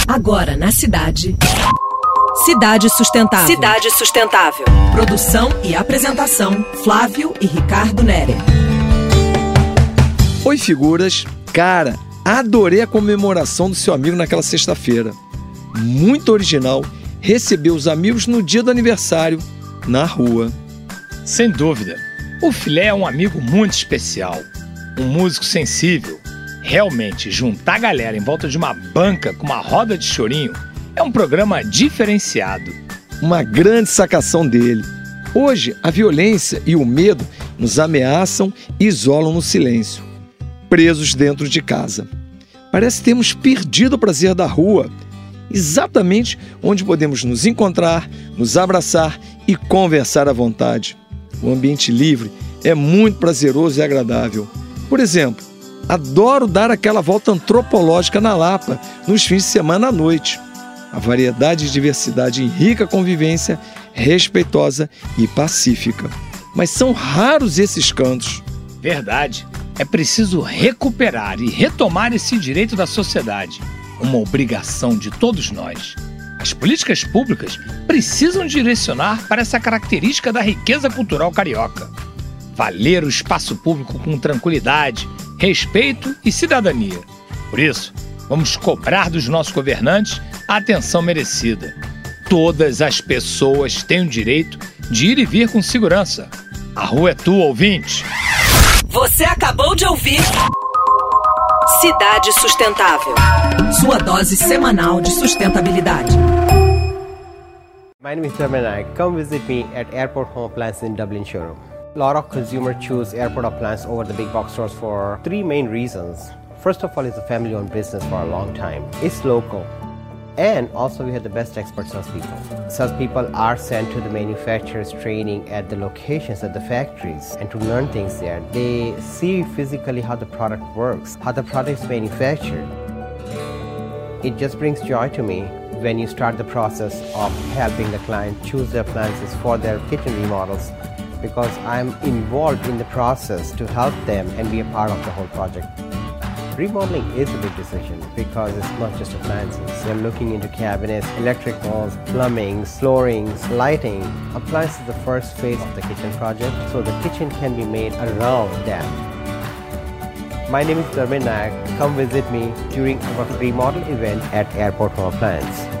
Agora na cidade. Cidade Sustentável. Cidade Sustentável. Produção e apresentação, Flávio e Ricardo Nere. Oi, figuras. Cara, adorei a comemoração do seu amigo naquela sexta-feira. Muito original, receber os amigos no dia do aniversário, na rua. Sem dúvida. O Filé é um amigo muito especial. Um músico sensível. Realmente, juntar a galera em volta de uma banca com uma roda de chorinho é um programa diferenciado. Uma grande sacação dele. Hoje, a violência e o medo nos ameaçam e isolam no silêncio, presos dentro de casa. Parece que temos perdido o prazer da rua, exatamente onde podemos nos encontrar, nos abraçar e conversar à vontade. O ambiente livre é muito prazeroso e agradável. Por exemplo, adoro dar aquela volta antropológica na Lapa nos fins de semana à noite. A variedade e diversidade enrica a convivência respeitosa e pacífica. Mas são raros esses cantos. Verdade. É preciso recuperar e retomar esse direito da sociedade. Uma obrigação de todos nós. As políticas públicas precisam direcionar para essa característica da riqueza cultural carioca. Valer o espaço público com tranquilidade, respeito e cidadania. Por isso, vamos cobrar dos nossos governantes a atenção merecida. Todas as pessoas têm o direito de ir e vir com segurança. A rua é tua, ouvinte. Você acabou de ouvir Cidade Sustentável. Sua dose semanal de sustentabilidade. My name is Dharmen Naik. Come visit me at Airport Home Appliance in Dublin showroom. A lot of consumers choose Airport Appliance over the big box stores for three main reasons. First of all, it's a family-owned business for a long time. It's local. And also we have the best expert salespeople. Salespeople are sent to the manufacturers training at the locations at the factories and to learn things there. They see physically how the product works, how the product is manufactured. It just brings joy to me when you start the process of helping the client choose their appliances for their kitchen remodels, because I'm involved in the process to help them and be a part of the whole project. Remodeling is a big decision because it's not just appliances. You're looking into cabinets, electricals, plumbing, floorings, lighting. Appliances is the first phase of the kitchen project, so the kitchen can be made around that. My name is Dharmen Naik. Come visit me during our remodel event at Airport Home Appliance.